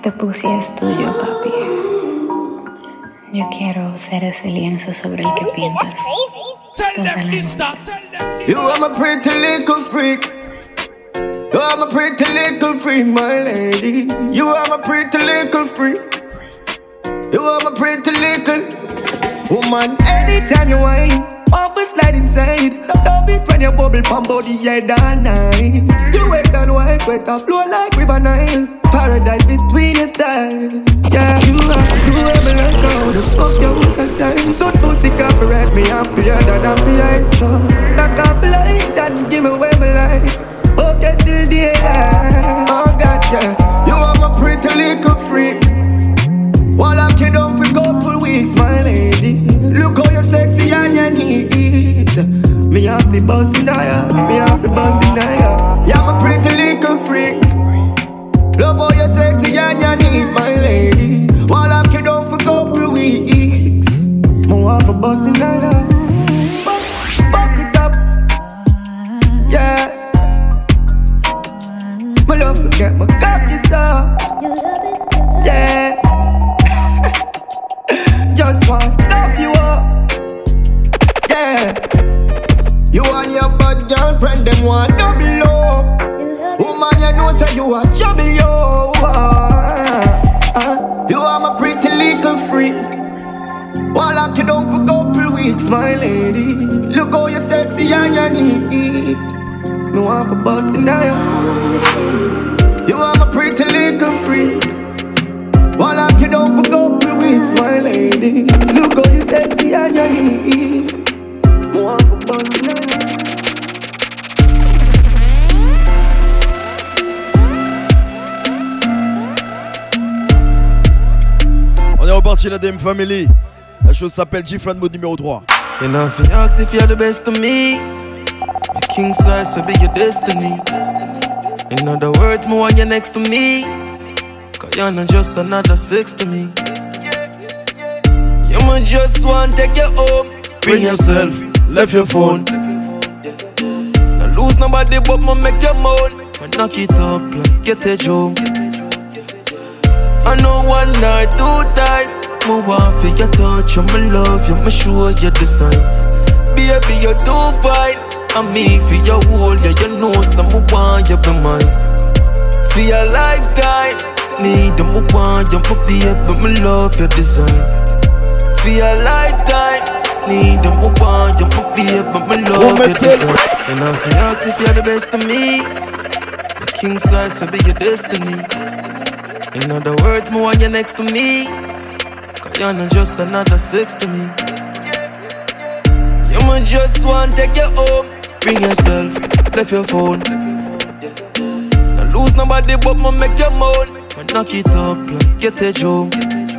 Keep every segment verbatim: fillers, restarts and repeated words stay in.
Este pussy es tuyo, papi. Yo quiero ser ese lienzo sobre el que pintas. You are my pretty little freak. You are my pretty little freak, my lady. You are my pretty little freak. You are my pretty little woman. Anytime you whine, over slide inside. Love it when you bubble pump body head all night. You wet and wife, wet and flow like River Nile. Paradise between your thighs. Yeah, you are, you are me like how the fuck you was a time. Good pussy copyright me happier than happy I saw. Like a flight and give me away my life. Okay till the end. Oh God, yeah. You are my pretty little freak. While I kid on for couple weeks, my lady. Look how you're sexy and you need. Me have the boss in there. Me have the boss in there. Yeah, I'm a pretty little freak. Love how you're sexy and you need, my lady. While I kid on for couple weeks, me have a boss in there. Fuck it up. Yeah. My love forget my cocky stuff. Yeah. Just wanna stop you up. Yeah. You and your bad girlfriend, them want double up. Woman, you know say you are trouble, yo. Uh, uh, you are my pretty little freak. While I kid on for couple weeks, my lady. Look how you're sexy and you need. No one for busting now. You are my pretty little freak. While I kid on for couple weeks, my lady. Look how you sexy and you need. No one for busting now. On est reparti la D M Family. La chose s'appelle G-Friend mode numéro trois. You know if you ask if you're the best to me, my king size will be your destiny. In other words, me want you next to me, cause you're not just another sex to me. You might just want to take you home. Bring yourself, left your phone. Not lose nobody but me make you moan. But knock it up like get a joke. I know one night, two time. Me want for your touch, and me love you, me show you the signs. Baby, you're too fine. And me for your whole, yeah, you know some me want you be mine. For your lifetime, need them me want you, me baby, me love your design. For your lifetime, need them me want you, me baby, me love your design. And if you ask if you're the best to me, my king size will be your destiny. In other words, me want you next to me, cause you're not just another sex to me. You might just want to take you home. Bring yourself, left your phone. Not lose nobody but me make you moan. But knock it up like get a joke.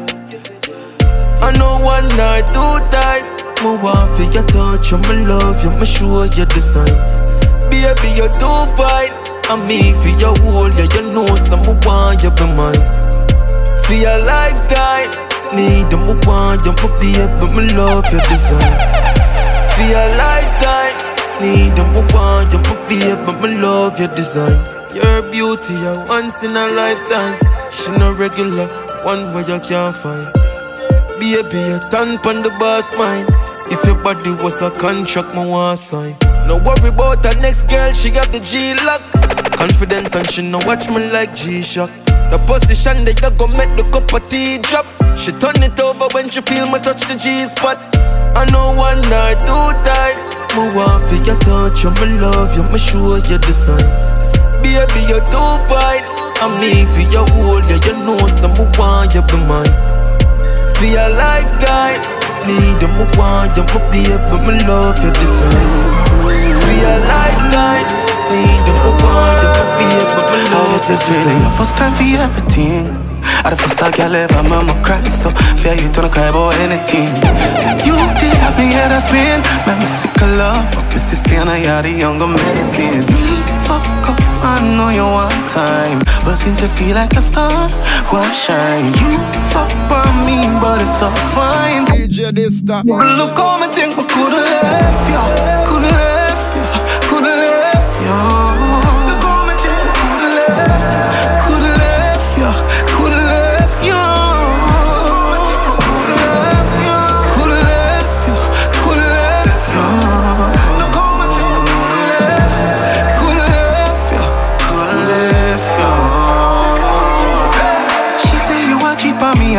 I know one night, two time. Me want for your touch, and me love you, me show you the signs. Baby, you're too fine. And me for your whole, yeah, you know some me want you be mine. For your lifetime, need them me want you, me baby, me love your design. For your lifetime, need them me want you, me baby, me love your design. Your beauty, a once in a lifetime. She no regular, one way you can't find. Baby, you turn pon the boss mind. If your body was a contract, me want sign. No worry about her next girl, she got the G-Lock. Confident and she no watch me like G-Shock. The position that you go make the cup of tea drop. She turn it over when she feel me touch the G-spot. I know one night, two time. Me want for your touch, and me love you, me show you the signs. Baby, you're too fine. And me for your whole, yeah, you know some me want you be mine. For your lifetime, need them me want you, me baby, me love you design. For your lifetime, need them me want you, me baby, me love you design. This is really your first time for everything. I the first time girl ever mama cry, so fear you don't cry about anything. You did have me head a spin, make me sick of love, but me still say I you're the younger medicine. Fuck up, I know you want time, but since you feel like a star, go and shine. You fuck by me, but it's all fine. D J this stop. Look how me think, but could've left you, could've left you, could've left you. Look how me think, could've left, could've left you, could've left.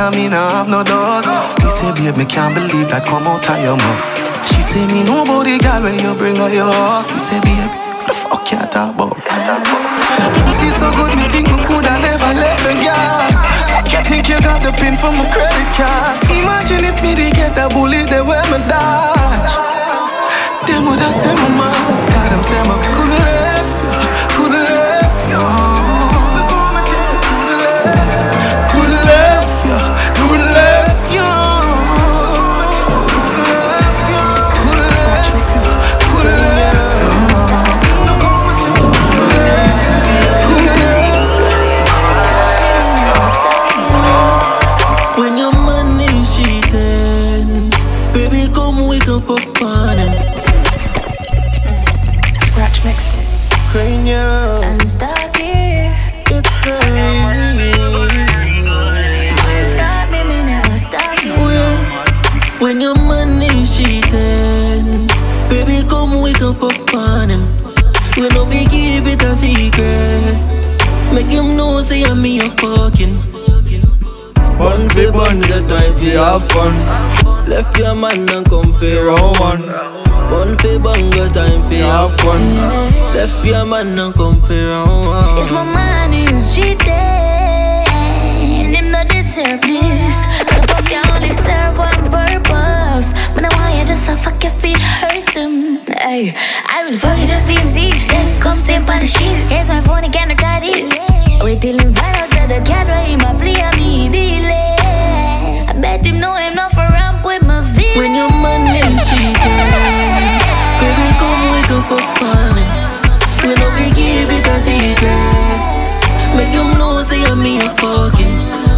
and me nah have no doubt. Me say, babe, me can't believe that come out of your mouth. She say, me know about the girl when you bring her your house. Me say, babe, what the fuck you talk about? Pussy so good, me think me coulda never left a girl. Fuck you think you got the pin for my credit card. Imagine if me did get that bullet, they wear me dodge. Them woulda say my mom, God, them say my coulda left you, coulda left you. Coulda left you, coulda left you. Coulda left you, coulda left you. Coulda left you. When your money cheating, baby, come we can fuck on it. Scratch mixed. Cranium, I'm stuck here. it's the real. Stop me, me never stop you. Well, when your money cheating, baby, come we can fuck on him. We no be keep it a secret. Make him know say I'm me a fucking. One for one, the time for have fun. Left your man and come for round one. One for one, the time for have fun. Left your man and come for round one. If my man is cheating, him not deserve this. The fuck you only serve one purpose. But I want you just to fuck your feet, hurt them. Hey, I will fuck you just for him see. Yes, come stay on the sheet. Here's my phone, I can't record it. Wait till him find out that the cat right in my play on me delay. I bet him know him not for ramp with my feet. When your man is cheating, baby, come we can fuck on it. We no be give it a secret. Make him know say I'm me a fucking.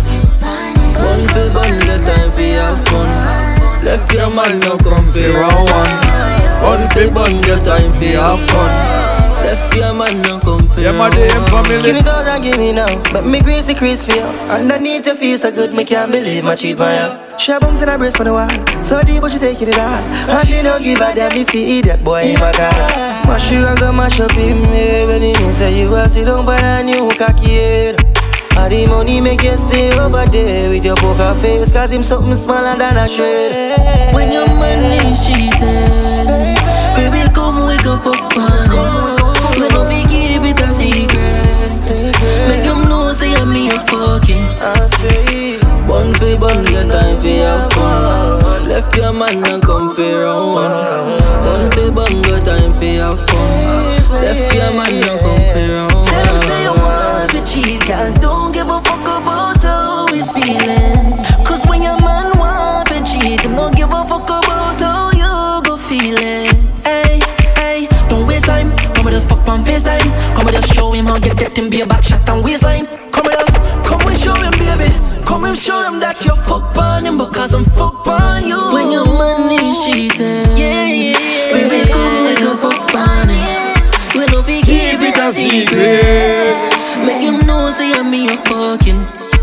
One for one, the time for have fun. Left your man no come for round one. One for one, the time for have fun. Left your man no come for round one. Skin it out and give me now, but me greasy crease for you. Underneath your feel so good, me can't believe my cheat by you. She a bounce in her breast for the wall, so deep but she taking it all. And she don't give a damn if he idiot boy in my car. Mash you and go mash up him, yeah. When he say you a sit down by a new cocky head. All the money make you stay over there with your poker face, cause him something smaller than a shred. When your money cheating, baby come we can fuck on it. We no be keep it a secret. Make him know say I'm me a fucking. I say One for one, get time for have fun. Left your man and come for round one. One for one, get time for have fun. Left your man and come for round one. Tell him say you want to cheat, girl. Don't give a fuck about how he's feeling. Cause when your man want to cheat, him don't give a fuck about how you go feel it. Hey, hey, don't waste time. Come with us, fuck on FaceTime. Come with us, show him how you get him be a back shot and waistline. Come with us, come and show him, baby. Come and show him that you fuck on him because I'm fuck on you. When your money cheating, yeah, yeah, yeah. Baby, come we can fuck on him. We no be keep it a secret. Make him know say I'm me a fucking.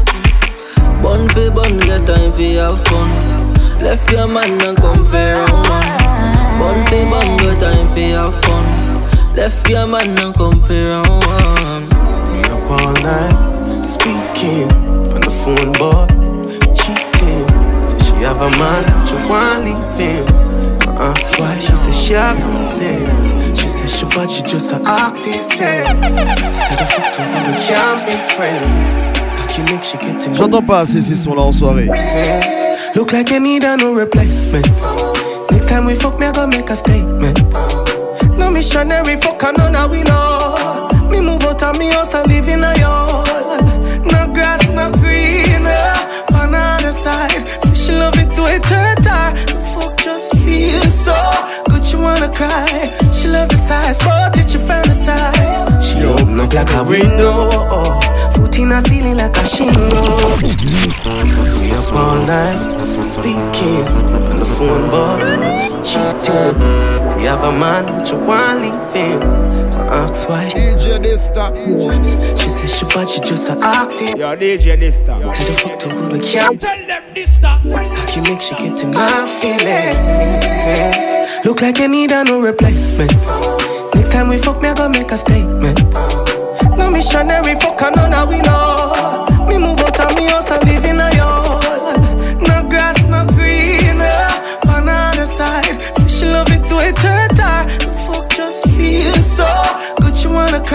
One for one, get time for have fun. Left your man and come for round one. One for one, get time for have fun. Left your man and come for round one. We up all night, speaking on the phone, boy, cheating. Say she have a man, but you want leave him. Uh-uh. That's why she said she have friends. She said she but she just a artist. Said the fuck to you, we can't be friends. Like you make she get him. J'entends pas ces sons-là en soirée. Look like you need a no replacement. Next time we fuck, me I gonna make a statement. No missionary fuck and none of we know. Me move out of me house and live in a yard. No grass, no green, uh, on the other side. Say she love it to it hurt her. The fuck just feels so good, she wanna cry. She love the size, but it she fantasize. She open up like a window, foot in a ceiling like a shingle. We up all night, speaking on the phone, boy, cheating. You have a man, but you want leave him. I ask why. D J Dysta. She says she but she just a acting. Yo, D J Dysta. And the fuck to go to camp. Tell them Dysta. Like you make she get in my feelings. Look like you need a no replacement. Next time we fuck, me I gonna make a statement. No missionary fuck and none of we know. Me move out of me house and live in a yard.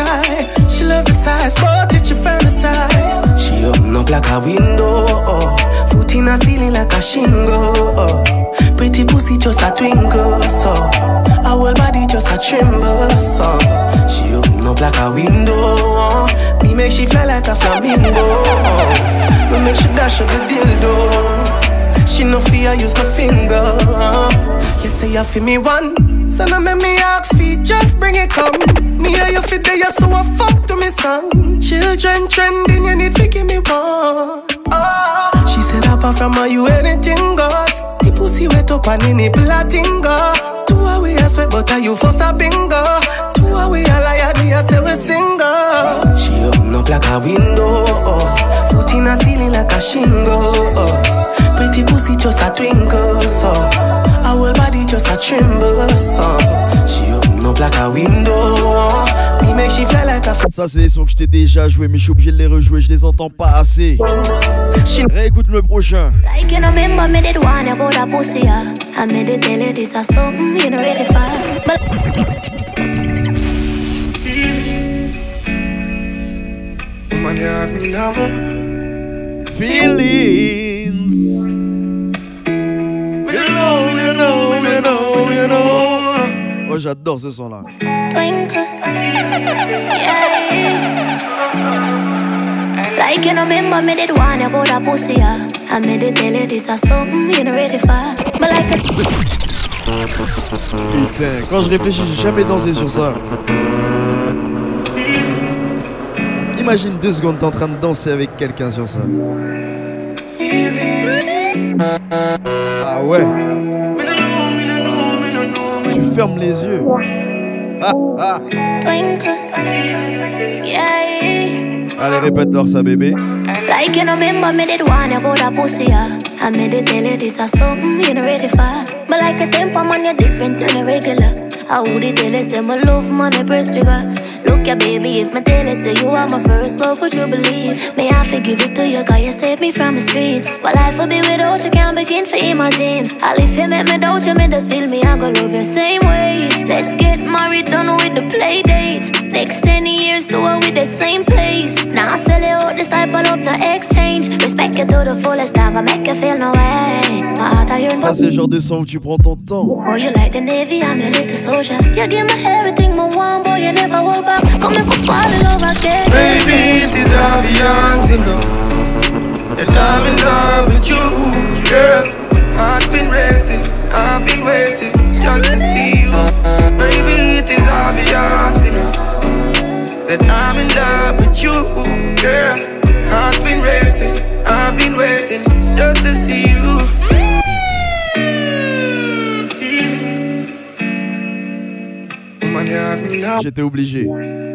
lie. She love the size, but it's your fantasize. She open up like a window, oh. Foot in a ceiling like a shingle, oh. Pretty pussy just a twinkle, so her whole body just a tremble, so she open up like a window, oh. Me make she fly like a flamingo, oh. Me make she dash out the dildo. She no fear, use no finger, oh. You say you feel me one, so now make me ask feet, just bring it come. Me hear you fit there, so I fuck to me song. Children trending, you need to give me one. Oh. She said apart from her, you anything goes. The pussy wet up and in it platinga. Two away I sweat, but are you for a bingo? Two away I lie, do you say we single? She open up like a window, oh. Foot in a ceiling like a shingle, oh. Pretty pussy just a twinkle, so her whole body just a tremble, so she open up like a window, oh. Me make she fly like a f- Ça c'est des sons que je t'ai déjà joué, mais je suis obligé de les rejouer, je les entends pas assez. Réécoute le prochain. Like you know, remember me did one about a pussy, yeah. I made it tell you this is something you know ready for. But Woman, you have me now. Feelings. You know, you know, you know, you know. Oh, j'adore ce son là. twinkle, yeah. Like you know, remember me did one about a pussy, yeah. I made it tell you this is something you know ready for. But like it. Putain, quand je réfléchis, j'ai jamais dansé sur ça. Imagine deux secondes, t'es en train de danser avec quelqu'un sur ça. Ah ouais. Tu fermes les yeux. Ah, ah. Twinkle, yeah. Allez, répète-leur ça, bébé. Like you know, remember me did one about a pussy, yeah. I made it tell you this is something you know ready for. But like a temper man, you're different than a regular. I would tell you say my love money press trigger. Look ya baby, if my tell you say you are my first love, would you believe? May I forgive it to you, cause you saved me from the streets. Well, life would be without you, can't begin to imagine. All if you make me doubt you, me just feel me, I go love you same way. Let's get married, done with the play dates. Next ten years, do it with the same place. Now I sell you out this type of love, no exchange. Respect you to the fullest, I'm gonna make you feel no way. My heart I yearn for. Ça c'est le genre de son où tu prends ton temps. Oh, you like the Navy, I'm your little soldier. You give me everything, my one boy, you never hold back. Come make me fall in love again. Baby, it is obvious, you know, that I'm in love with you, girl. Heart's been racing, I've been waiting just to see you. Baby, it is obvious, you know, that I'm in love with you, girl. Heart's been racing, I've been waiting just to see you. J'étais obligé.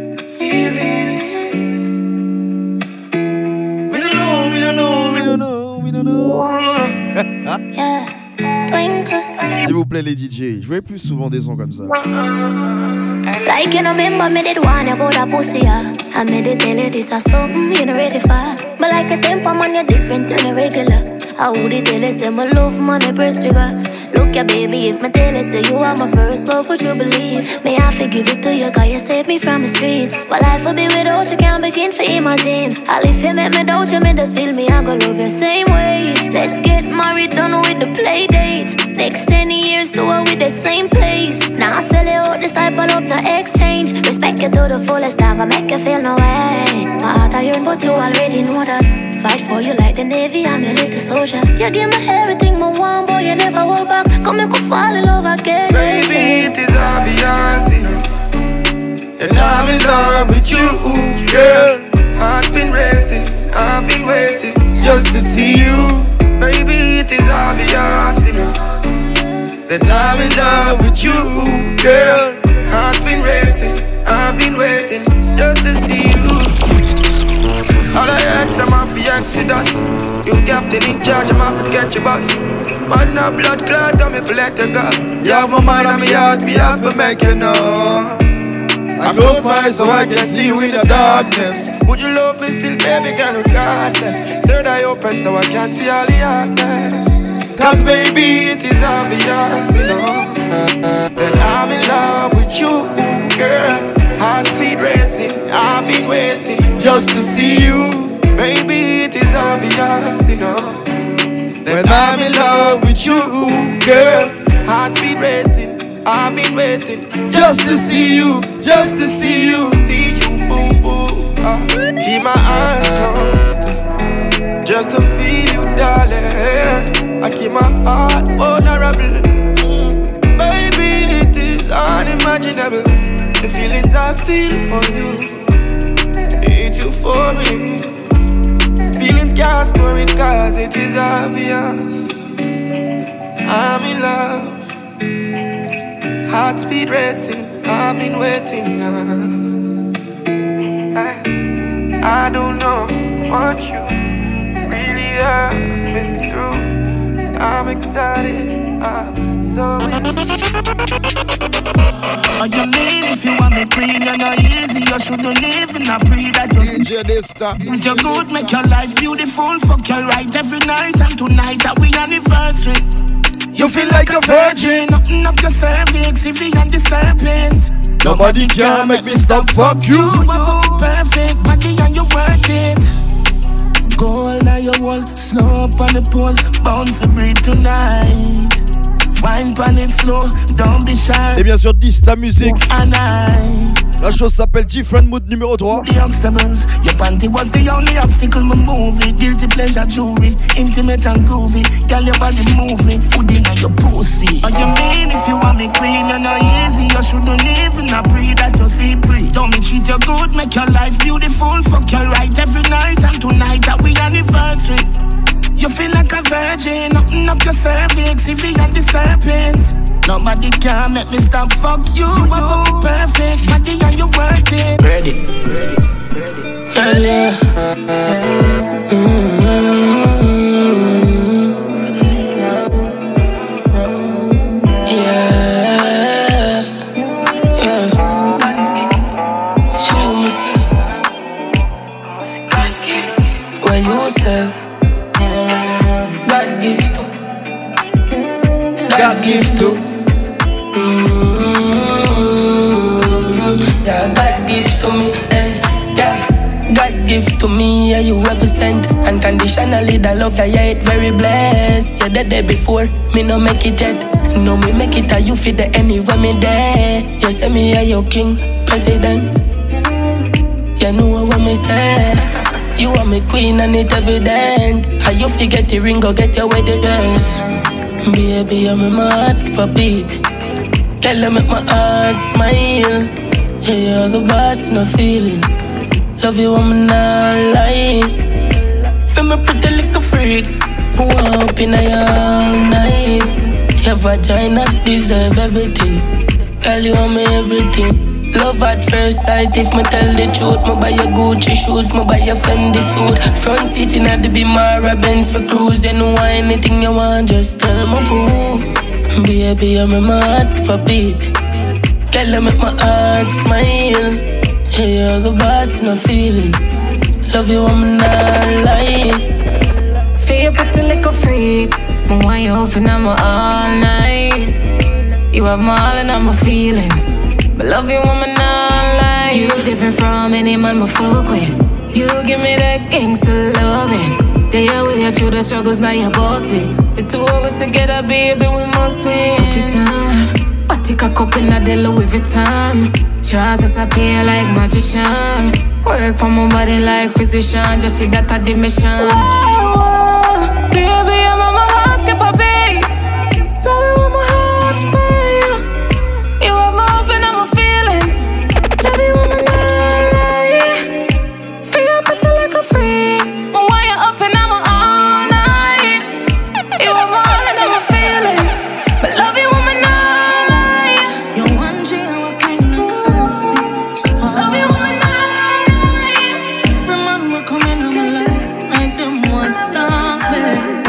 S'il vous plaît les D J, jouez plus souvent des sons comme ça. Like you know, remember me did one about a pussy, yeah. I made it tell you this is something you know ready for. But like a temper man, you're different than a regular. I would tell you say my love money press trigger. Look ya baby, if my tell you say you are my first love, would you believe? May I forgive it to you, cause you saved me from the streets. Well, life would be without you, can't begin to imagine. All if you make me doubt you, me just feel me, I go love you same way. Let's get married, done with the play dates. Next ten years, do it with the same place. Now I sell you out this type of love, no exchange. Respect you to the fullest, I'm gonna make you feel no way. My heart I yearn, but you already know that. Fight for you like the Navy, I'm your little soldier. You give me everything, my one boy, you never hold back. Come make me fall in love again. Baby, it is obvious, you know, that I'm in love with you, girl. Heart's been racing, I've been waiting just to see you. Baby, it is obvious, you know, that I'm in love with you, girl. Heart's been racing, I've been waiting just to see you. All I ask them off the Exodus. You captain in charge, I'm off to get your boss. Man, no blood clot, I'm if let you go. You have my mind on me heart, me have to make you know. I close my eyes so I can see you in the darkness. Would you love me still, baby, girl, regardless? Third eye open so I can see all the darkness. Cause baby, it is obvious, you know, that I'm in love with you, girl. Heart speed racing, just to see you. Baby, it is obvious, you know, that I'm in love with you, girl. Heart's been racing, I've been waiting just to see you, just to see you, see you, boo boo. Uh, keep my eyes closed, just to feel you, darling. I keep my heart vulnerable. Mm. Baby, it is unimaginable, the feelings I feel for you. It's you for me. Feelings can't store it cause it is obvious. I'm in love. Heart speed racing, I've been waiting now. I, I don't know what you really have been through. I'm excited, I'm so Are you mean if you want me queen, you're not easy. You shouldn't live in a pre that you D J Dysta. You're good, make your life beautiful. Fuck you right every night, and tonight that we anniversary. You feel like a virgin. Nothing up your cervix, if you and the serpent. Nobody can make me stop, fuck you. You are so perfect, body and you work it. Gold on your wall, slow up on the pole. Bound for breathe tonight. Wine pan it slow, don't be shy. Et bien sûr Dysta Music. And I La chose s'appelle Different Mood numéro trois. The obstacles, your panty was the only obstacle me move it. Guilty pleasure jewelry, intimate and groovy. Girl your body move me, hoodie on your pussy. What you mean if you want me queen, you're not easy. You shouldn't live in a pre that you see pre. Don't me treat you good, make your life beautiful. Fuck you right every night, and tonight that we anniversary. You feel like a virgin, nothing up your cervix, if you and the serpent. Nobody can make me stop, fuck you. You are so perfect, body and you work it. Ready, ready, yeah. Mm-hmm. Yeah, yeah. Show me where you say God gift to God gift to mm-hmm. Yeah, God gift to me, eh, yeah. God gift to me, yeah, you ever sent unconditionally the love, yeah, yeah, it very blessed. Yeah, the day before, me no make it yet. No, me make it, you feel the anywhere me there. You say me, yeah, your king, president. You know what me say. You are my queen and it evident. How you forget the ring, go get your wedding dress. Baby, I'm in my heart, skip a beat. Girl, I make my heart smile. Yeah, you're the boss, no feelings. Love you, I'm not lying. Feel me pretty little freak who up in all night. Your vagina deserve everything. Girl, you want me everything. Love at first sight, if me tell the truth. Me buy your Gucci shoes, me buy your Fendi suit. Front seat in at the Bimara Benz for cruise. You know anything you want, just tell me boo. Baby, I'm in my heart, skip a beat. Girl, I make my heart smile. Hey, you're the boss, no feelings. Love you, I'm not lying. Feel pretty like a freak. Me want you open, I'm all night. You have my all and I'm my feelings. But love you, woman, not lie. You different from any man I fuck with. You give me that gangsta loving. They are with you through the struggles, now you boss me. The two of us together, baby, we must win. Put it on, I take a cup in a Louis Vuitton. Trousers appear like magician. Work for my body like physician. Just she got a dimension. Whoa, whoa, baby, I'm on my heart, skip a beat. Love you with my heart smile. You have my hope and I'm my feelings. Love you with my night. Feel pretty like a freak. But when you're up and I'm all night. You have my all and I'm my feelings. But love you with my night. You're one G and what kind of curse this? Love you with my night. Every man will come in on my life like them was stop me.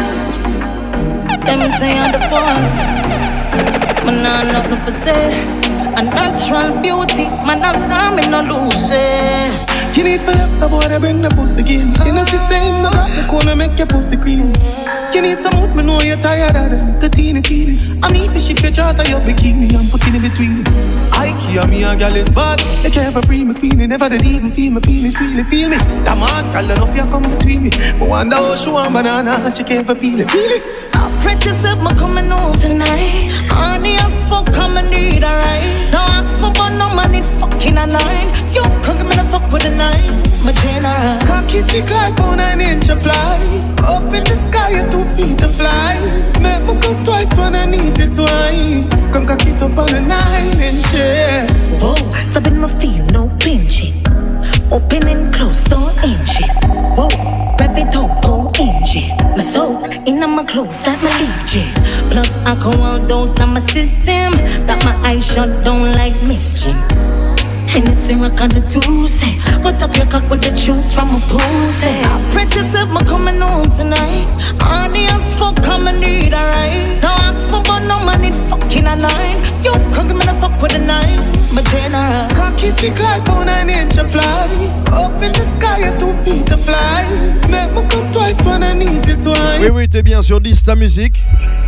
Let me say on the point. Man, I'm nothing for say. A natural beauty, man, I stand me no lose it. You need for left, the boy to bring the pussy again. You know, see, same, no got the corner, make your pussy cream. You need some wood, me know you're tired of it. The teeny teeny. I mean, fishy features of your bikini, I'm putting in between. I care me a girl is bad. They care for pre me queenie, never did even feel me penis, really feel me. That man, girl, enough you come between me. But wonder how she want banana, she care for peel it, peel it. I practice if me coming home tonight. Honey, I spoke, come and need a ride. No ask for but no money, fucking a nine. You can't give me the fuck with a nine. My general. Cocky thick like bone and inch apply. Up in the sky, you're two feet to fly. Make me come twice when I need it twice. Come cock it up on a nine inch, yeah. Whoa, stopping my feel, no pinching. Open and close, two inches. Whoa, rev it out, go engine. My soul, in my clothes, that my leave J. Plus alcohol dose, now my system. Got my eyes shut down like mischief. Hennessy rock on the Tuesday. What up your cock with the juice from a pussy? I practice if me coming home tonight. Honey, I spoke, come and need a ride. No ask for but no money, fucking a nine. You can't give me the fuck with a nine. My general. Cocky thick like bone and inch apply. Up in the sky, you're two feet to fly. Make me come twice when I need it twice. Oui, oui, t'es bien sur dix ta musique.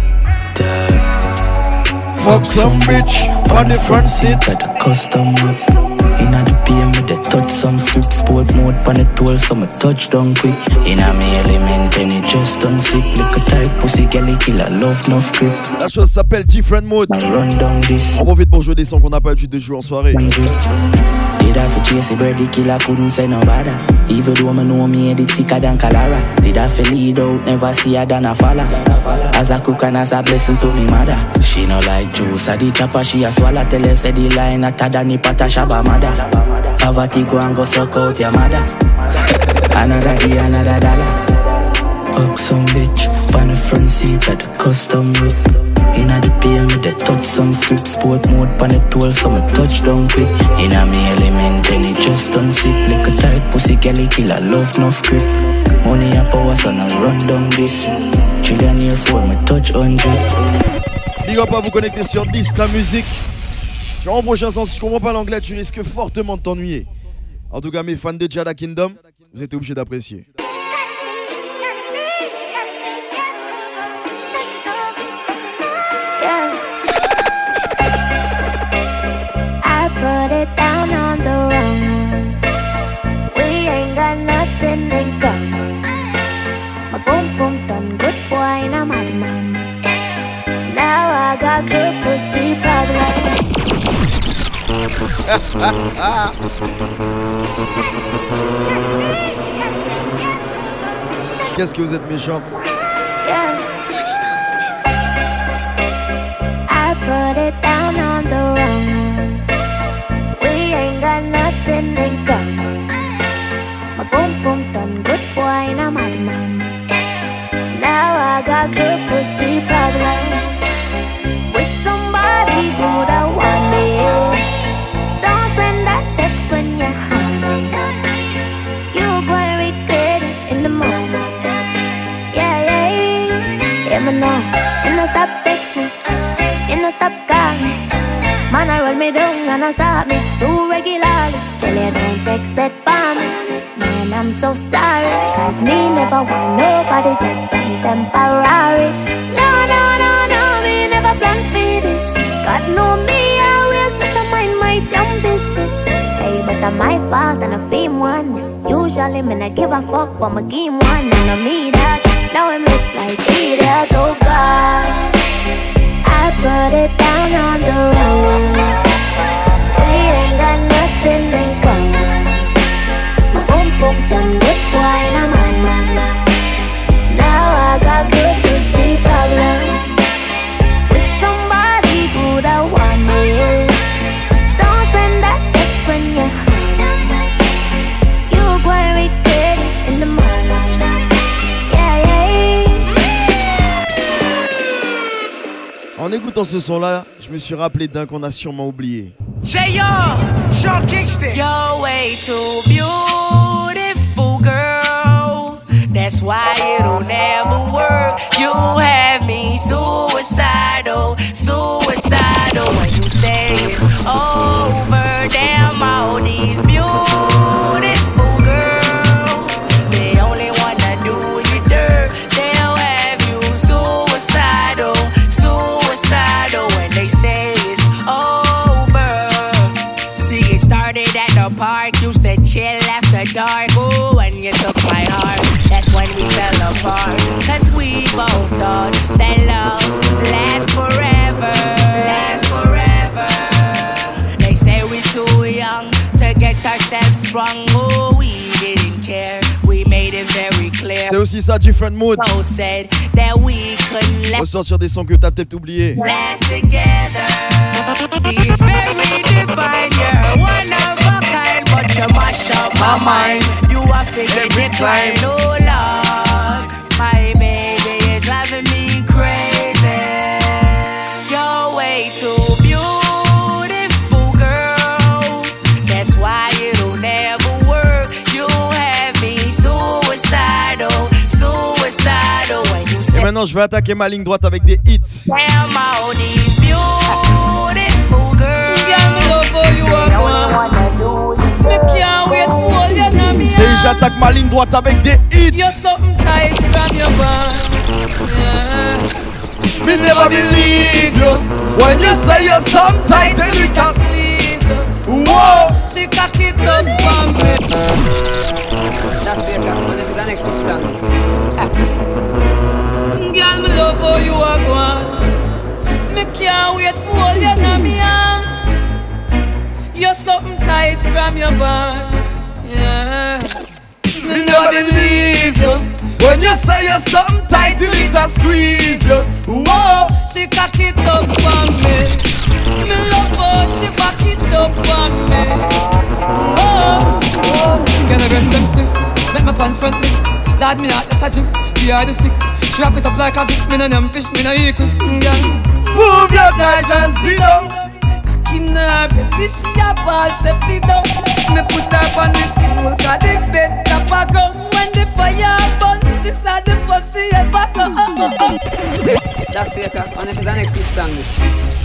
Fuck some bitch on the front seat at the custom roof. Inna the P M with the touch some script. Sport mode pan the tool so me touch down quick. Inna me element penny just done sick. Look a tight pussy girl killer love no grip. La chose s'appelle Different Mode. Run down this. On profite pour jouer des sons qu'on n'a pas l'habitude de jouer en soirée. Did I for chase a birdie killer couldn't say no bother. Even though me know me the thicker than Calara. Did I for lead out never see her than a fella. As a cook and as a blessing to me mother. She no like juice a the chopper she a swallow. Tell her say the line atta than the pata shabba mother. Poverty go and go suck out your mother. Another day another dollar. Fuck some bitch on the front seat at the custom whip. Inna the P M with the touch some script. Sport mode pan the tool so me touch down quick. Inna me element and it just don't sip. Like a tight pussy girl killer love no grip. Money and power so now run down this. Trillionaire for me touch hundred. Big up à vous connecter sur dix ta musique. Genre en prochain sens, si je comprends pas l'anglais, tu risques fortement de t'ennuyer. En tout cas, mes fans de Jada Kingdom, vous êtes obligés d'apprécier. Put it down on the wrong one. We ain't got nothing in common. My boom boom done good boy and I'm mad man. Now I got good pussy problem. Qu'est-ce que vous êtes méchante. Yeah. I put it down on the wrong one. Ain't got nothing in common. My boom boom done good boy and I'm mad man. Now I got good pussy problems. With somebody good I want me. Don't send that text when you're honey. You gonna regret it in the morning. Yeah, yeah, yeah. Yeah, me know. And I stop text me. And I stop call me. Man, I roll me down and I stop me too regularly. Tell you don't text it for me. Man, I'm so sorry. Cause me never want nobody, just some temporary. No, no, no, no, me never plan for this. God know me, I always just mind my damn business. Hey, but I'm my fault and I fame one. Usually me not give a fuck, but my game one. And I me that, now I look like idiot, oh God. I put it down on the wrong one. We ain't got nothing in common. My boom boom done good boy and I'm on man. Now I got good to see problem. With somebody good I want me. Don't send that text when you're honey. You gonna regret it in the morning. Yeah, yeah. En écoutant ce son-là, je me suis rappelé d'un qu'on a sûrement oublié. J R, Sean Kingston. You're way too beautiful, girl. That's why it'll never work. You have me suicidal, suicidal. When you say it's over, damn all these beautiful to chill after dark. Oh, when you took my heart, that's when we fell apart. Cause we both thought that love lasts forever. Lasts forever. They say we're too young to get ourselves sprung. Oh, we didn't care. We made it very clear. C'est aussi ça, Different Mood. So said that we couldn't let ressortir des sons que t'as peut-être oubliés. last together. See, it's very divine. You're one of a kind, but you mash up my mind. You are fit every time. Oh Lord, my baby is driving me crazy. You're way too beautiful, girl. That's why it'll never work. You have me suicidal, suicidal when you say. Et maintenant, je vais attaquer ma ligne droite avec des hits. Damn all these beautiful girls. C'est j'attaque ma ligne droite avec des hits. You're something tight from your bond. Yeah. Me never believe you when you say you're some tight and you can squeeze. Whoa, she cock it up for me. That's it, one of his next hit songs. Girl, me love how you are gone. Me can't wait for all you know me arm. You're something tight from your bond. Yeah. me never believe you when you say you're something tight till it a squeeze you. Whoa, she cock it up for me. Me love her, she back it up for me. Whoa, whoa. Get a breast them stiff, make my pants front lift. Lad me out, that's a jiff, the hard stick. Strap it up like a gift, me no name fish, me no eat cliff. Move your thighs and sit down. Cocky nerve, this she a ball safety down. Me put her on the stool, cause the bed chop a go. When the fire burn, she saw the first she ever go. That's it, one of his next hit songs.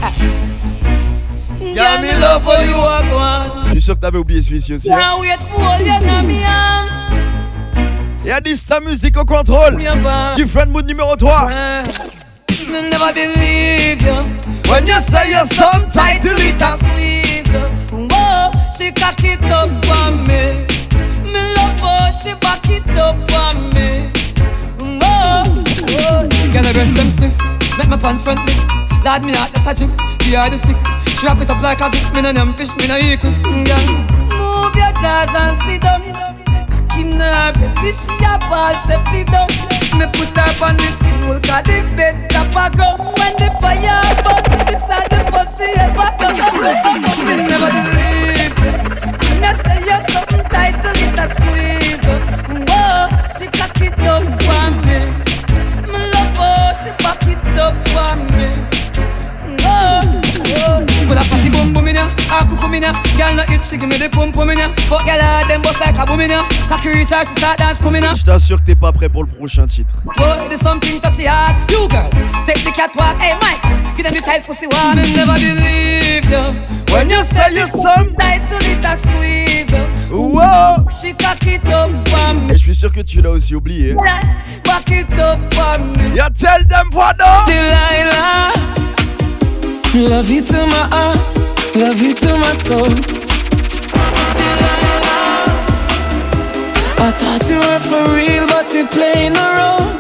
Y'a me love for you are gone. Je suis sûr que t'avais oublié celui-ci aussi. Can't wait for all you know me arm. Y'a dit ta musique au contrôle. Different Mood numéro trois. Me never believe you when you say you're some tight till it a squeeze. Whoa, she cock it up for me. Me love her, she back it up for me. Whoa, whoa. Get a breast them stiff, make my pants front lift. Lad me out, that's a jiff, the hard stick. Strap it up like a gift, me no name fish, me no eat cliff. Move your jaws and sit down. Cocky nerve, this she a ball safety down. Me put her on the stool, cause the bed chop a go. When the fire burn, she saw the first she ever go. Me never believe it when you say you're something tight till it a squeeze. Whoa, she cock it up for me. Me love her, she back it up for me. Whoa, whoa. Put a party boom boom in ya, a cuckoo in ya. Girl no itch, she give me the pum pum in ya. Fuck girl hard, them bust like a boom in ya. Cocky reach her, she start dance coming ya. Je t'assure que t'es pas prêt pour le prochain titre. Boy, there's something touchy hard. You girl, take the catwalk. Hey Mike, give them the tight pussy one. And never believe you when you say you're some tight to it a squeeze. Whoa, she cock it up for me. Et je suis sûr que tu l'as aussi oublié. Back it up for me. You tell them what no. Delilah, love you to my heart, love you to my soul. I thought you were for real, but you're playing a role.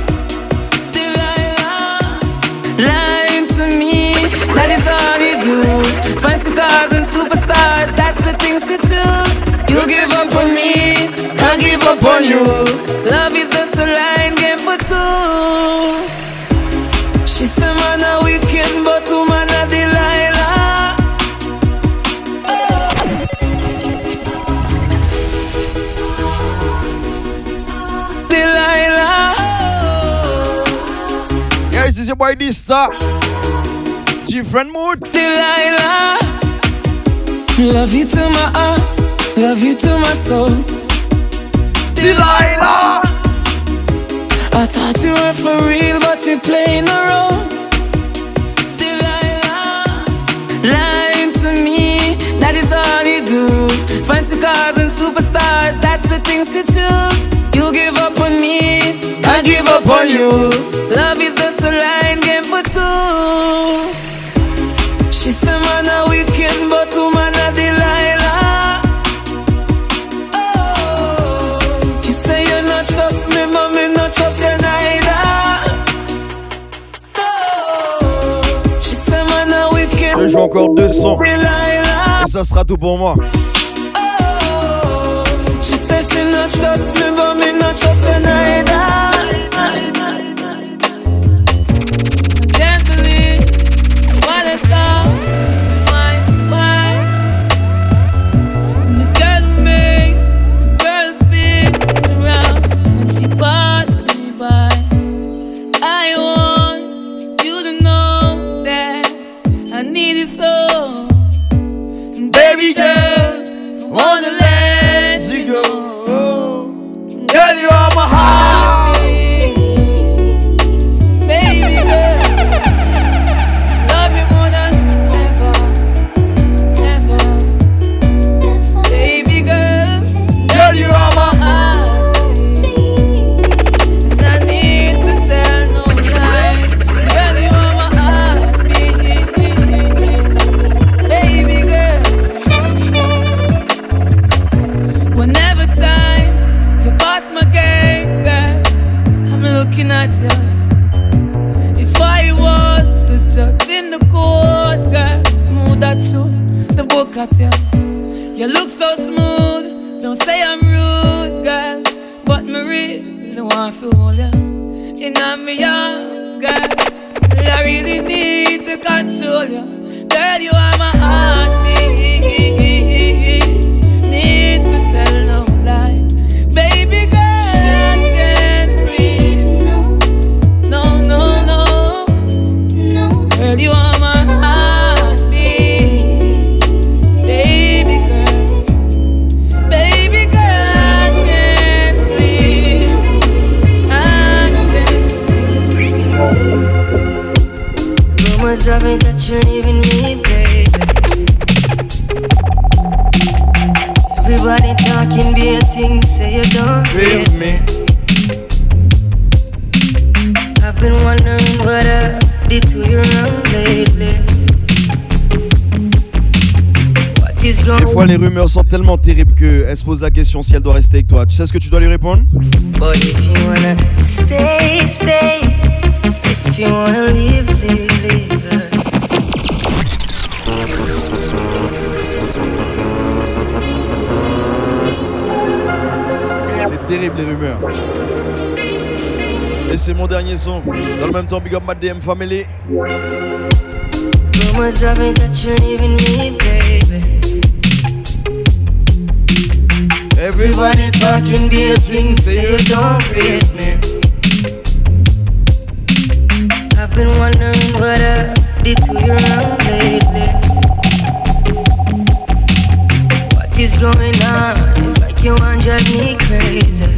Delilah, lying to me, that is all you do. Fancy cars and superstars, that's the things you choose. You give up on me, I give up on you. Love is just a line game for two. She said man a wicked, but woman a Delilah. Delilah. Yeah, this is your boy D-Star. Different Mood. Delilah, love you to my heart, love you to my soul. Delilah, I thought you were for real, but you're playing a role. Delilah, lying to me, that is all you do. Fancy cars and superstars, that's the things you choose. You give up on me, I give up on you. Love is just a line game for two. She said man a wicked, but woman a Delilah. encore deux sons. Et ça sera tout pour moi. She says she not trust me, but me not trust her neither. Can't believe what I saw. Why, why? This girl with me, girls spin around when she passed me by. I want you to know that I need you so. Baby girl, wanna let you go. Girl, you are my heart. Baby girl, love you more than ever, ever. Baby girl, girl, you are my heart. And I need to tell no lie. Girl, you are my heart. Baby girl, whenever time to pass my game, girl, I'm looking at you. If I was the judge in the court, girl, move that you, the book at you. You look so smooth, don't say I'm rude, girl, but me really want to hold you in my arms, girl. I really need to control you, girl. You are my heartbeat. Need to tell no lie, baby girl. I can't sleep. No, no, no, no. Girl, you are my heartbeat, baby girl. Baby girl, I can't sleep. I can't sleep. Rumors of it that you're leaving me, baby. Everybody talking be a thing, say you don't Leave me. I've been wondering what I did to you wrong lately. What is going on? Des fois, les rumeurs sont tellement terribles qu'elle se pose la question si elle doit rester avec toi. Tu sais ce que tu dois lui répondre? But if you wanna stay, stay. If you wanna leave, leave, leave. C'est terrible les rumeurs. Et c'est mon dernier son. Dans le même temps, big up my D M family. Rumors of it that you're leaving me, baby. Everybody talking be a thing, say you don't rate me. I've been wondering what I did to you wrong lately. What is going on? It's like you wanna drive me crazy.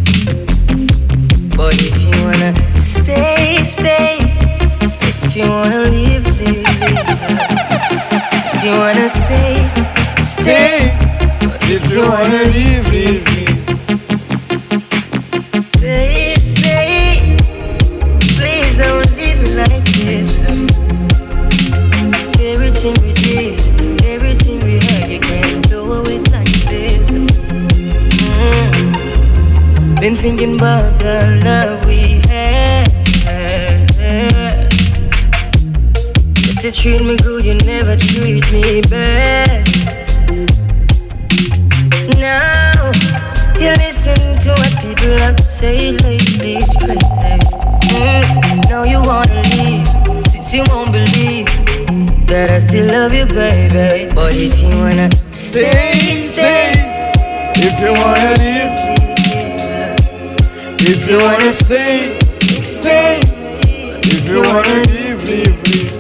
But if you wanna stay, stay. If you wanna leave, leave, leave. If you wanna stay, stay. But if you wanna leave, leave, leave. Stay, stay. Please don't leave me like this. Everything we did, everything we had, you can't throw away like this. Mm. Been thinking about the love we had. Yes, you treat me good, you never treat me bad. Now you listen to what people have to say lately, it's crazy. Mm. Now you wanna leave, since you won't believe that I still love you, baby. But if you wanna stay, stay. If you wanna leave, if you wanna stay, stay. If you wanna leave, leave, leave.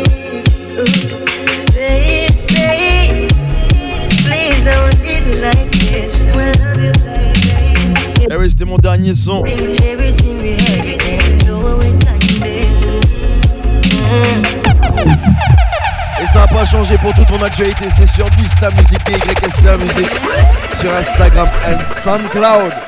Stay, stay. Please don't leave me like this. I love you, baby. Eh oui, c'était mon dernier son. Everything we had, you can't throw away like this. Mm. Et ça n'a pas changé pour toute mon actualité. C'est sur Dista Music, Y S T A Music, sur Instagram et SoundCloud.